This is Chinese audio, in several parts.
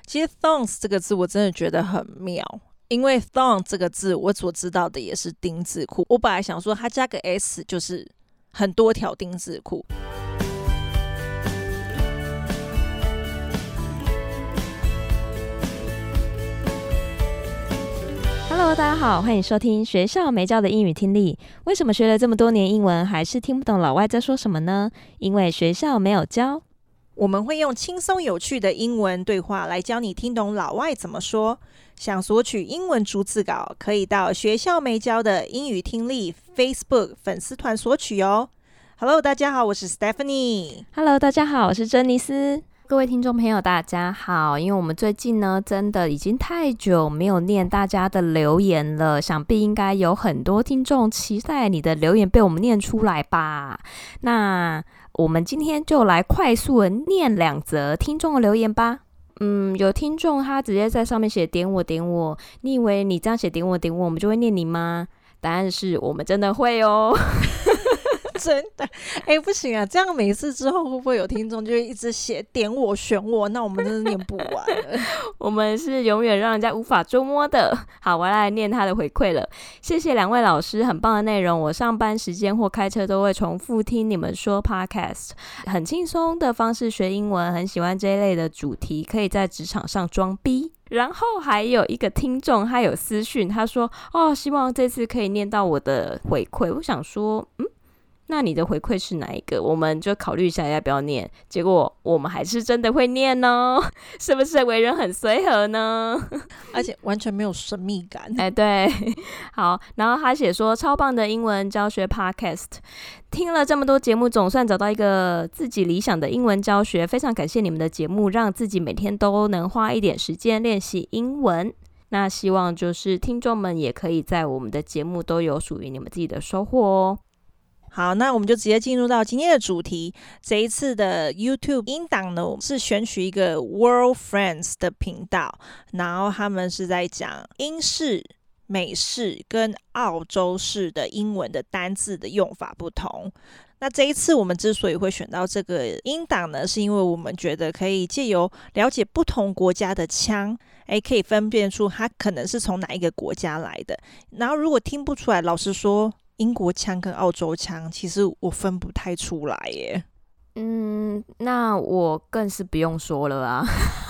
其實 thongs 這個字我真的覺得很妙，因為 thong 這個字我所知道的也是丁字褲，我本來想說它加個 s 就是很多條丁字褲。 Hello， 大家好，歡迎收聽學校沒教的英語聽力。為什麼學了這麼多年英文，還是聽不懂老外在說什麼呢？因為學校沒有教。 我們會用輕鬆有趣的英文對話來教你聽懂老外怎麼說。想索取英文逐字稿，可以到學校沒教的英語聽力 Facebook 粉絲團索取哦。Hello， 大家好，我是 Stephanie。 Hello， 大家好，我是珍妮斯。各位聽眾朋友，大家好！因為我們最近呢，真的已經太久沒有念大家的留言了，想必應該有很多聽眾期待你的留言被我們念出來吧。那我們今天就來快速的念2則聽眾的留言吧。有聽眾他直接在上面寫點我點我，你以為你這樣寫點我點我，我們就會念你嗎？答案是我們真的會哦。 真的，不行啊！這樣每次之後會不會有聽眾就會一直寫點我選我？那我們真的念不完了。 我們是永遠讓人家無法捉摸的。好，我要來念他的回饋了。謝謝2位老師，很棒的內容。我上班時間或開車都會重複聽你們說 podcast， 很輕鬆的方式學英文，很喜歡這一類的主題，可以在職場上裝逼。然後還有一個聽眾，他有私訊，他說：“希望這次可以念到我的回饋。”我想說，那你的回饋是哪一個？我們就考慮一下要不要念。結果我們還是真的會念哦，是不是為人很隨和呢？ 而且完全沒有神秘感。 對，好。然後他寫說，超棒的英文教學 podcast， 聽了這麼多節目，總算找到一個自己理想的英文教學。非常感謝你們的節目，讓自己每天都能花一點時間練習英文。那希望就是聽眾們也可以在我們的節目都有屬於你們自己的收穫哦。 好，那我們就直接進入到今天的主題。這一次的 YouTube 音檔呢，我們是選取一個 World Friends 的頻道，然後他們是在講英式、美式跟澳洲式的英文的單字的用法不同。那這一次我們之所以會選到這個音檔呢，是因為我們覺得可以借由了解不同國家的腔，可以分辨出它可能是從哪一個國家來的。然後如果聽不出來，老實說，英國腔跟澳洲腔，其實我分不太出來耶。 那我更是不用說了啊。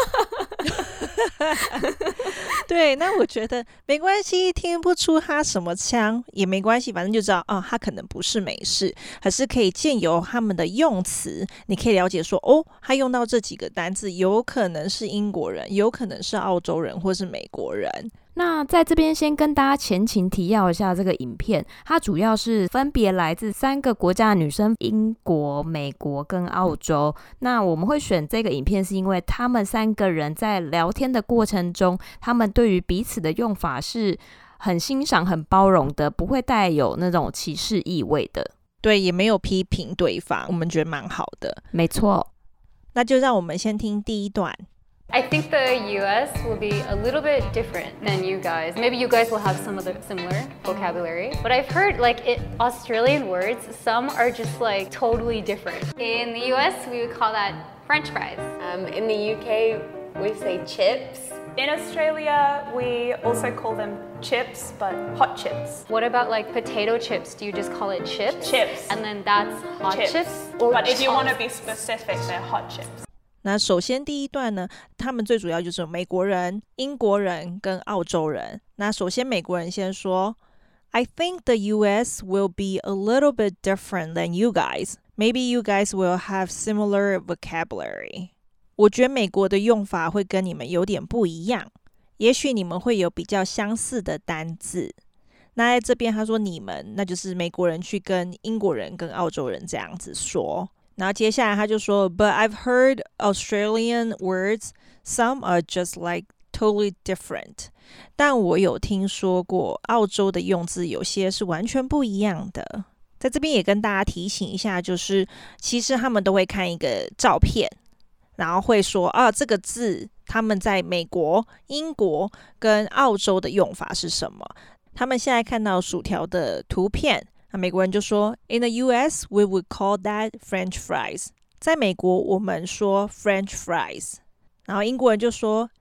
對，那我覺得沒關係，聽不出他什麼腔也沒關係，反正就知道他可能不是美式，可是可以借由他們的用詞，你可以了解說，他用到這幾個單字，有可能是英國人，有可能是澳洲人，或是美國人。 那在這邊先跟大家前情提要一下這個影片，它主要是分別來自3個國家的女生，英國、美國跟澳洲。那我們會選這個影片是因為他們3個人在聊天的過程中，他們對於彼此的用法是很欣賞、很包容的，不會帶有那種歧視意味的。 對，也沒有批評對方，我們覺得蠻好的。 沒錯， 那就讓我們先聽第一段。 I think the US will be a little bit different than you guys. Maybe you guys will have some of the similar vocabulary. But I've heard Australian words, some are just totally different. In the US, we would call that French fries. In the UK, we say chips. In Australia, we also call them chips, but hot chips. What about potato chips? Do you just call it chips? Chips. And then that's hot chips? But if you want to be specific, they're hot chips. 那首先第一段呢，他們最主要就是美國人、英國人跟澳洲人。那首先美國人先說 I think the US will be a little bit different than you guys. Maybe you guys will have similar vocabulary. 我覺得美國的用法會跟你們有點不一樣，也許你們會有比較相似的單字。那在這邊他說你們，那就是美國人去跟英國人跟澳洲人這樣子說。然後接下來他就說 But I've heard Australian words, some are just totally different. 但我有聽說過澳洲的用字有些是完全不一樣的。在這邊也跟大家提醒一下，就是其實他們都會看一個照片，然後會說這個字他們在美國、英國跟澳洲的用法是什麼。他們現在看到薯條的圖片，那美國人就說 In the US, we would call that French fries. 在美國我們說 French fries. 然後英國人就說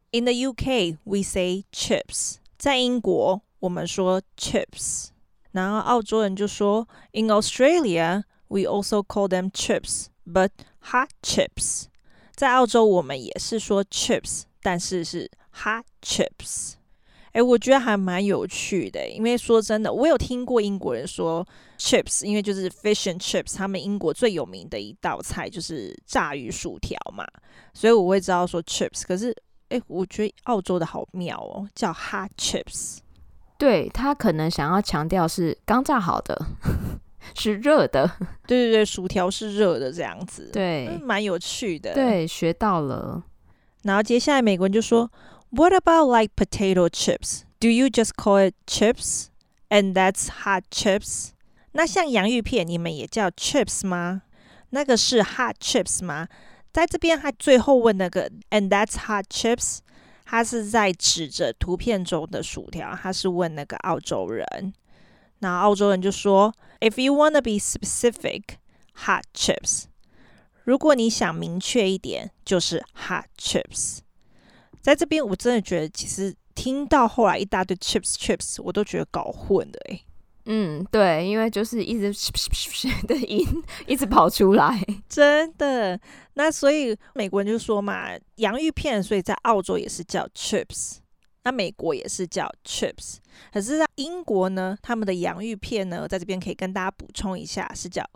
In the UK, we say chips. 在英國，我們說 chips。然後澳洲人就說 In Australia, we also call them chips, but hot chips. 在澳洲，我們也是說 chips， 但是是 hot chips。我覺得還蠻有趣的，因為說真的，我有聽過英國人說 chips， 因為就是 fish and chips， 他們英國最有名的一道菜就是炸魚薯條嘛，所以我會知道說 chips。可是，我覺得澳洲的好妙哦，叫 hot chips。 對，他可能想要強調是剛炸好的，是熱的。 對对对，薯條是熱的這樣子。 對， 蠻有趣的。 對，學到了。 然後接下來美國人就說 What about like potato chips? Do you just call it chips? And that's hot chips? 那像洋芋片你們也叫 chips 嗎？那個是 hot chips 嗎？在這邊他最後問那個 And that's hot chips? 他是在指着圖片中的薯條，他是問那個澳洲人。那澳洲人就說 If you want to be specific, hot chips. 如果你想明確一點，就是 hot chips。在這邊我真的覺得其實聽到後來一大堆 chips 我都覺得搞混了對，因為就是一直的音一直跑出來， 真的。那所以美國人就說嘛，洋芋片所以在澳洲也是叫 chips， 那美國也是叫 chips。可是在英國呢，他们的洋芋片呢，在這邊可以跟大家補充一下，是叫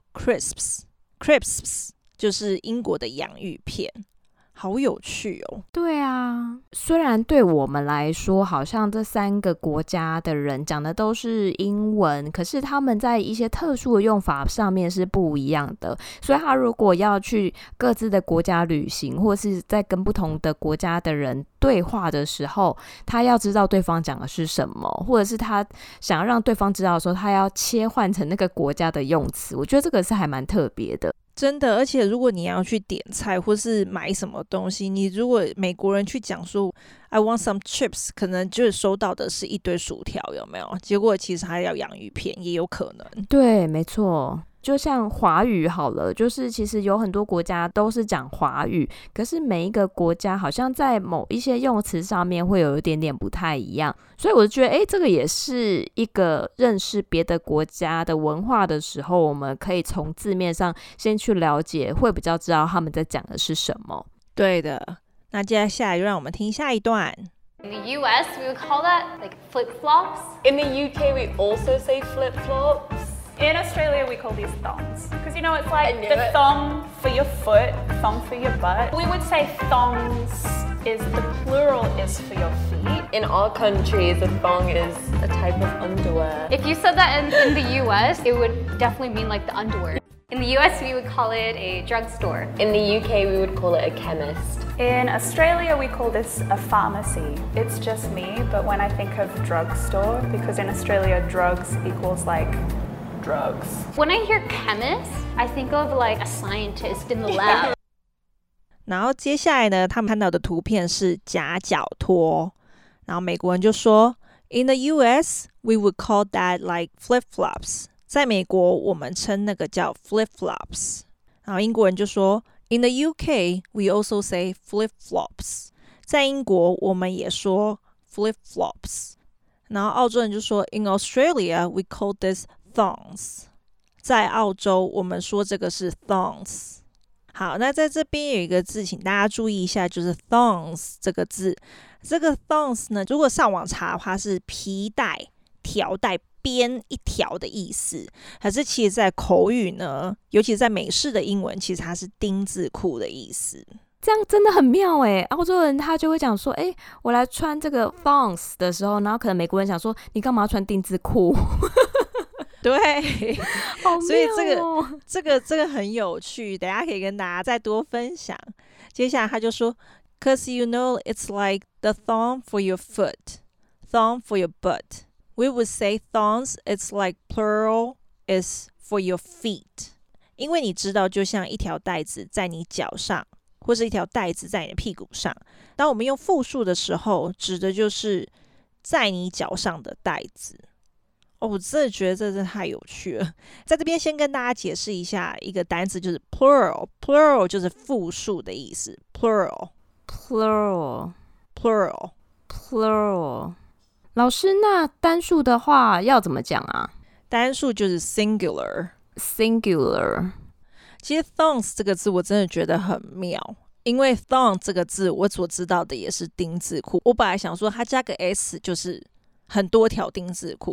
crisps， 就是英國的洋芋片。好有趣哦。 对啊，虽然对我們來說好像這三個國家的人講的都是英文，可是他們在一些特殊的用法上面是不一樣的，所以他如果要去各自的國家旅行，或是在跟不同的國家的人對話的時候，他要知道對方講的是什麼，或者是他想要讓對方知道的時候，他要切換成那個國家的用詞，我覺得這個是還蠻特別的。 真的，而且如果你要去點菜或是買什麼東西，你如果美國人去講說 I want some chips， 可能就是收到的是一堆薯條，有沒有？結果其實還要洋芋片，也有可能。 對，沒錯。就像華語好了，就是其實有很多國家都是講華語，可是每一個國家好像在某一些用詞上面會有一點點不太一樣，所以我就覺得這個也是一個認識別的國家的文化的時候，我們可以從字面上先去了解，會比較知道他們在講的是什麼。 對的，那接下來就讓我們聽下一段。 In the US, we would call that like flip-flops. In the UK, we also say flip-flops. In Australia, we call these thongs. Because, you know, it's like the thong for your foot, thong for your butt. We would say thongs is, the plural is for your feet. In our countries, a thong is a type of underwear. If you said that in the US, it would definitely mean like the underwear. In the US, we would call it a drugstore. In the UK, we would call it a chemist. In Australia, we call this a pharmacy. It's just me, but when I think of drugstore, because in Australia, drugs equals like drugs. When I hear chemist, I think of like a scientist in the lab. 然後接下來呢，他们看到的圖片是夾腳拖，然後美國人就說 In the US, we would call that like flip-flops. 在美國，我們稱那個叫 flip-flops。然後英國人就說 In the UK, we also say flip-flops. 在英國，我們也說 flip-flops。然後澳洲人就說 In Australia, we call this thongs. 在澳洲，我們說這個是 thongs。好，那在這邊有一個字，請大家注意一下，就是 thongs 這個字。這個 thongs 呢，如果上網查的話，是皮帶、條帶、編一條的意思。可是其實在口語呢，尤其是在美式的英文，其實它是丁字褲的意思。 這樣真的很妙耶，澳洲人他就會講說我來穿這個 thongs 的時候，然後可能美國人想說你幹嘛要穿丁字褲？ 對， 好妙哦。 所以這個很有趣，等一下可以跟大家再多分享。接下來他就說 Cause you know it's like the thong for your foot, thong for your butt. We would say thongs, it's like plural is for your feet. 因為你知道就像一條帶子在你腳上，或是一條帶子在你的屁股上。當我們用複數的時候，指的就是在你腳上的帶子。我真的覺得這真的太有趣了。在這邊先跟大家解釋一下一個單詞，就是 plural。plural 就是複數的意思。plural plural。 老師，那單數的話要怎麼講啊？ 單數就是 singular。其實 thongs 這個字我真的覺得很妙，因為 thong 這個字我所知道的也是丁字褲。我本來想說它加個 s 就是很多條丁字褲，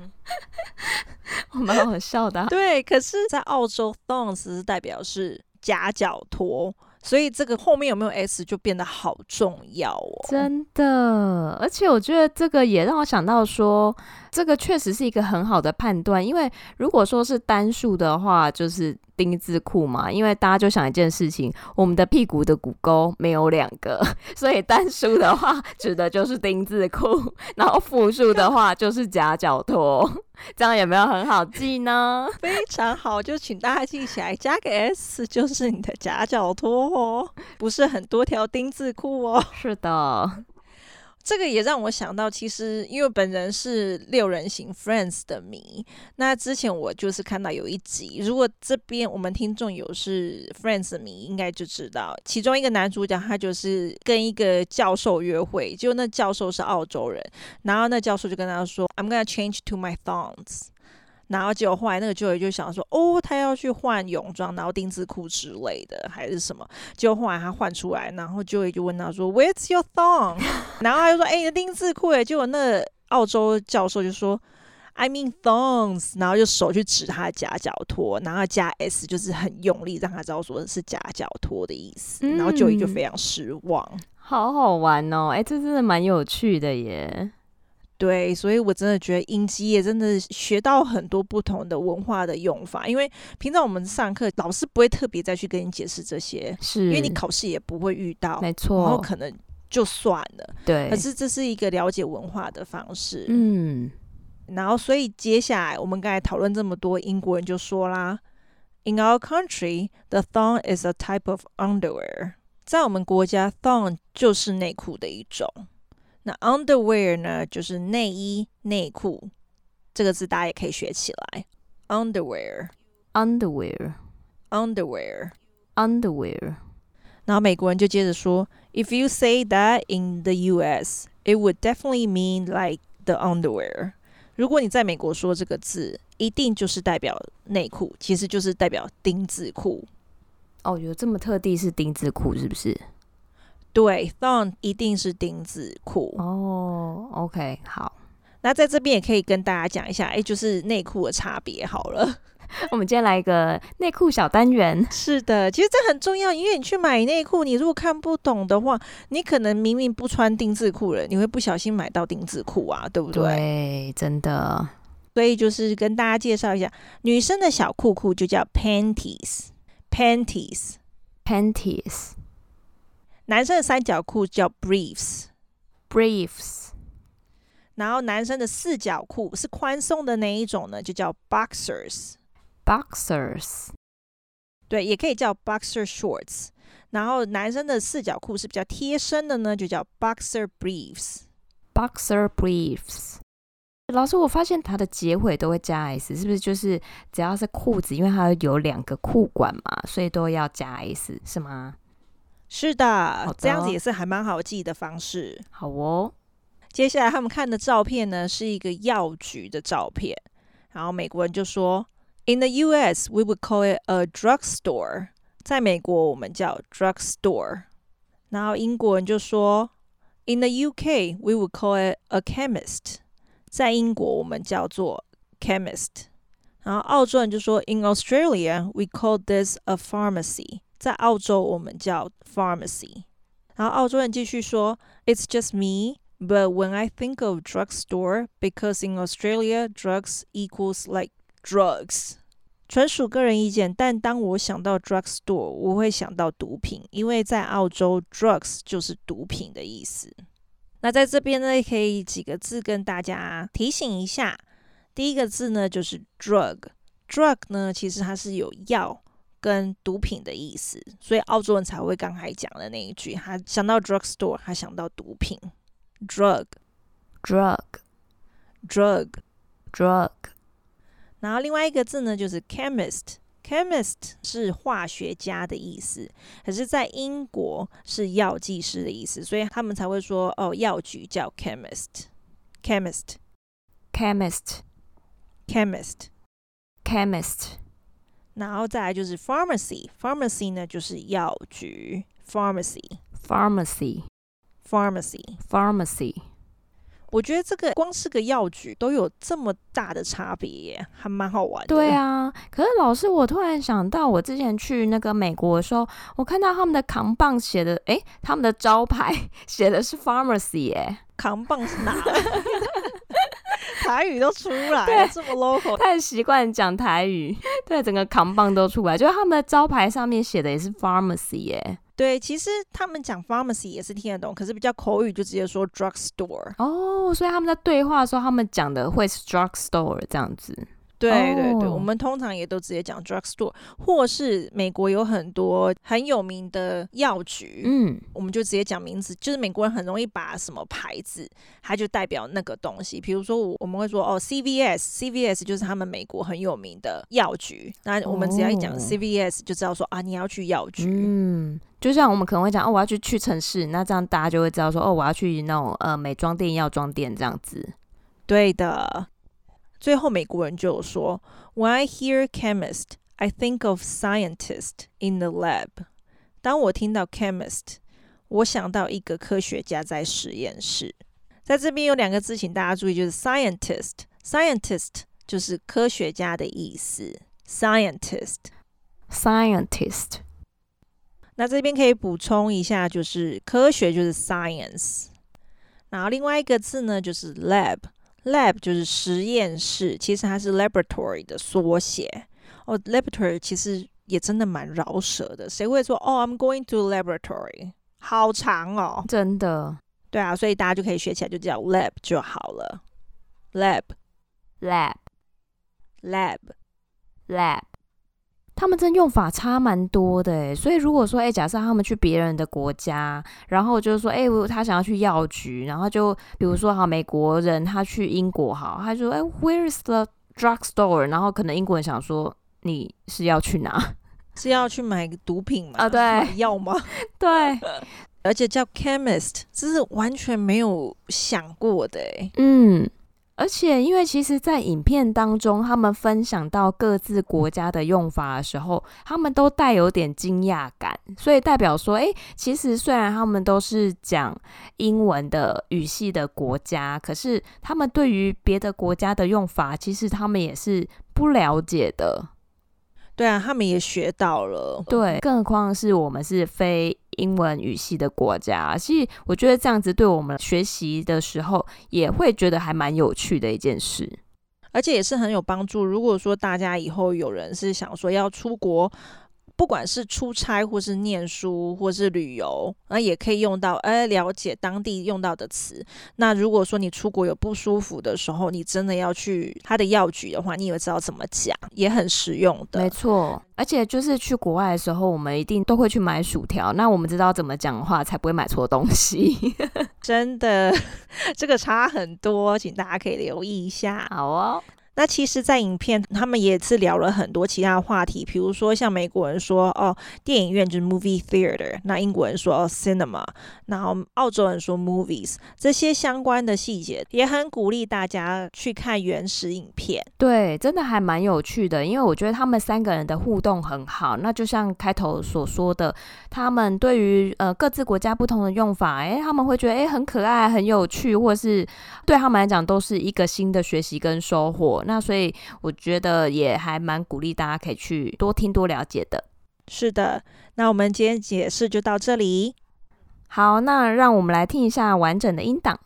蠻好笑的啊。 對，可是在澳洲 thongs 是代表是夾腳拖，所以這個後面有沒有 s 就變得好重要哦。 真的，而且我覺得這個也讓我想到說，這個確實是一個很好的判斷，因為如果說是單數的話，就是丁字褲嘛，因為大家就想一件事情，我們的屁股的骨溝沒有2個，所以單數的話指的就是丁字褲，然後複數的話就是夾腳拖，這樣有沒有很好記呢？ 非常好，就請大家記起來，加個 s 就是你的夾腳拖哦，不是很多條丁字褲哦。 是的。 這個也讓我想到，其實因為本人是6人行 Friends 的迷，那之前我就是看到有一集，如果這邊我們聽眾有是 Friends 的迷，應該就知道，其中一個男主角他就是跟一個教授約會，結果那教授是澳洲人，然後那教授就跟他說 I'm gonna change to my thongs， 然後結果後來那個舅舅就想說他要去換泳裝，然後丁字褲之類的還是什麼，結果後來他換出來，然後舅舅就問他說 Where's your thong？ 然後他就說你的丁字褲耶，結果那個澳洲教授就說 I mean thongs， 然後就手去指他的夾腳拖，然後加 s 就是很用力讓他知道說是夾腳拖的意思，然後舅舅就非常失望。 好好玩哦，這真的蠻有趣的耶。 对，所以我真的覺得影集也真的學到很多不同的文化的用法，因為平常我們上課老師不會特別再去跟你解釋這些， 是因為你考試也不會遇到， 沒錯， 然後可能就算了。 對， 可是這是一個了解文化的方式。然後所以接下來我們剛才討論這麼多，英國人就說啦 In our country, the thong is a type of underwear。在我們國家 thong 就是內褲的一種。那 underwear 呢，就是內衣、內褲，這個字大家也可以學起來。underwear。然後美國人就接着說 If you say that in the US, it would definitely mean like the underwear。如果你在美國說這個字，一定就是代表內褲，其實就是代表丁字褲。 有這麼特地是丁字褲是不是？ 對 thong 一定是丁字褲。 OK， 好。 那在這邊也可以跟大家講一下，就是內褲的差別好了。 我們今天來一個內褲小單元。 是的，其實這很重要，因為你去買內褲，你如果看不懂的話，你可能明明不穿丁字褲了，你會不小心買到丁字褲啊，對不對？ 對，真的。 所以就是跟大家介紹一下，女生的小褲褲就叫 panties。男生的三角褲叫 briefs。然後男生的四角褲是寬鬆的那一種呢，就叫 boxers。對，也可以叫 boxer shorts。然後男生的四角褲是比較貼身的呢，就叫 boxer briefs。老師，我發現它的結尾都會加 s， 是不是就是只要是褲子，因為它有2個褲管嘛，所以都要加 s， 是嗎？ 是的，這樣子也是還蠻好記的方式。 好哦。 接下來他們看的照片呢，是一個藥局的照片，然後美國人就說 In the US, we would call it a drugstore。在美國我們叫 drugstore。然後英國人就說 In the UK, we would call it a chemist。在英國我們叫做 chemist。然後澳洲人就說 In Australia, we call this a pharmacy。在澳洲我們叫 pharmacy。然後澳洲人繼續說 It's just me, but when I think of drugstore, because in Australia, drugs equals like drugs。純屬個人意見，但當我想到 drugstore， 我會想到毒品，因為在澳洲 drugs 就是毒品的意思。那在這邊呢，可以幾個字跟大家提醒一下。第一個字呢就是 drug。drug 呢其實它是有藥跟毒品的意思，所以澳洲人才會剛才講的那一句，他想到 drugstore， 他想到毒品。drug。然後另外一個字呢就是 chemist。 chemist 是化學家的意思，可是在英國是藥劑師的意思，所以他們才會說藥局叫 chemist。 然後再來就是 pharmacy 呢就是藥局 pharmacy。我覺得這個光是個藥局都有這麼大的差別耶，還蠻好玩的。 對啊，可是老師，我突然想到，我之前去那個美國的時候，我看到他们的扛棒写的，他们的招牌寫的是 pharmacy 耶。 扛棒是哪來？台語都出來了，這麼 local， 太習慣講台語，對，整個扛棒都出來，就是他們的招牌上面寫的也是 pharmacy 耶。 對，其實他們講 pharmacy 也是聽得懂，可是比較口語就直接說 drugstore。 所以他們在對話的時候，他們講的會是 drugstore 這樣子。 對对对，我們通常也都直接講 drugstore， 或是美國有很多很有名的藥局，我們就直接講名字，就是美國人很容易把什麼牌子，它就代表那個東西。比如說我們會說CVS 就是他們美國很有名的藥局，那我們只要一講 CVS 就知道說你要去藥局。 就像我們可能會講我要去屈臣氏，那這樣大家就會知道說我要去那種美妝店、藥妝店這樣子。 對的。最後美國人就有說 When I hear chemist, I think of scientist in the lab. 當我聽到 chemist, 我想到一個科學家在實驗室。在這邊有兩個字請大家注意，就是 scientist 就是科學家的意思。scientist 那這邊可以補充一下，就是科學就是 science， 然後另外一個字呢就是 lab 就是實驗室，其實它是 laboratory 的縮寫。laboratory 其實也真的蠻饒舌的，誰會說I'm going to laboratory， 好長哦， 真的。 對啊，所以大家就可以學起來，就叫 lab 就好了。lab 他們真用法差蠻多的耶，所以如果說假設他們去別人的國家，然後就是說他想要去藥局，然後就比如說美國人他去英國他就說where is the drugstore， 然後可能英國人想說你是要去哪？是要去買毒品嗎？对，買藥嗎？对，而且叫 chemist， 這是完全沒有想過的耶。而且因為其實在影片當中他們分享到各自國家的用法的時候，他們都帶有點驚訝感，所以代表說其實雖然他們都是講英文的語系的國家，可是他們對於別的國家的用法其實他們也是不了解的。對啊，他們也學到了。對，更何況是我們是非英文語系的國家，其實我覺得這樣子對我們學習的時候也會覺得還蠻有趣的一件事，而且也是很有幫助。如果說大家以後有人是想說要出國，不管是出差或是念書或是旅遊，那也可以用到了解當地用到的詞。那如果說你出国有不舒服的時候，你真的要去他的藥局的話，你也知道怎麼講，也很實用的。沒錯，而且就是去國外的時候，我們一定都會去買薯條，那我們知道怎麼講的話才不會買錯東西。真的，這個差很多，請大家可以留意一下。好哦。那其實在影片他們也是聊了很多其他的話題，比如說像美國人說電影院就是 movie theater， 那英國人說cinema， 然後澳洲人說 movies， 這些相關的細節也很鼓勵大家去看原始影片。對，真的還蠻有趣的，因為我覺得他們三個人的互動很好。那就像開頭所說的，他們對於各自國家不同的用法，他們會覺得很可愛很有趣，或是對他們來講都是一個新的學習跟收穫。那所以我覺得也還蠻鼓勵大家可以去多聽多了解的。是的，那我們今天解釋就到這裡。好，那讓我們來聽一下完整的音檔。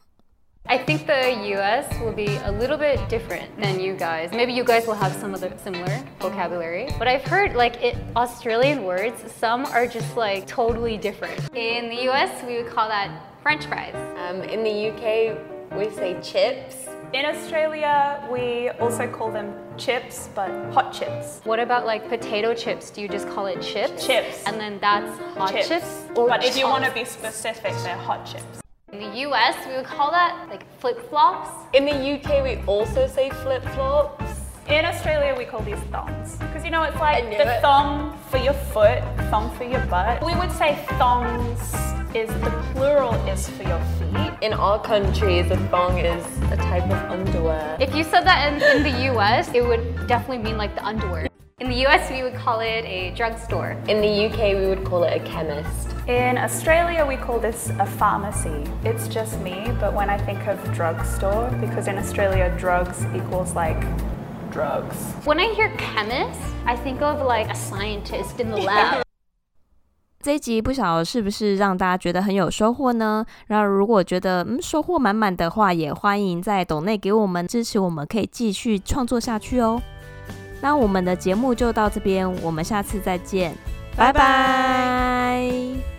I think the US will be a little bit different than you guys. Maybe you guys will have some of the similar vocabulary. But I've heard Australian words, some are just totally different. In the US, we would call that French fries. In the UK, we say chips. In Australia, we also call them chips, but hot chips. What about potato chips? Do you just call it chips? Chips. And then that's hot chips? But if you want to be specific, they're hot chips. In the US, we would call that flip-flops. In the UK, we also say flip-flops. In Australia, we call these thongs. Because you know, it's like the thong for your foot, thong for your butt. We would say thongs is the plural is for your feet. In our countries, a thong is a type of underwear. If you said that in the US, it would definitely mean like the underwear. In the US, we would call it a drugstore. In the UK, we would call it a chemist. In Australia, we call this a pharmacy. It's just me, but when I think of drugstore, because in Australia, drugs equals like drugs. When I hear chemist, I think of like a scientist in the lab. 這一集不曉得是不是讓大家覺得很有收穫呢？然後如果覺得收穫滿滿的話，也歡迎在抖內給我們支持，我們可以繼續創作下去哦。那我們的節目就到這邊，我們下次再見，拜拜。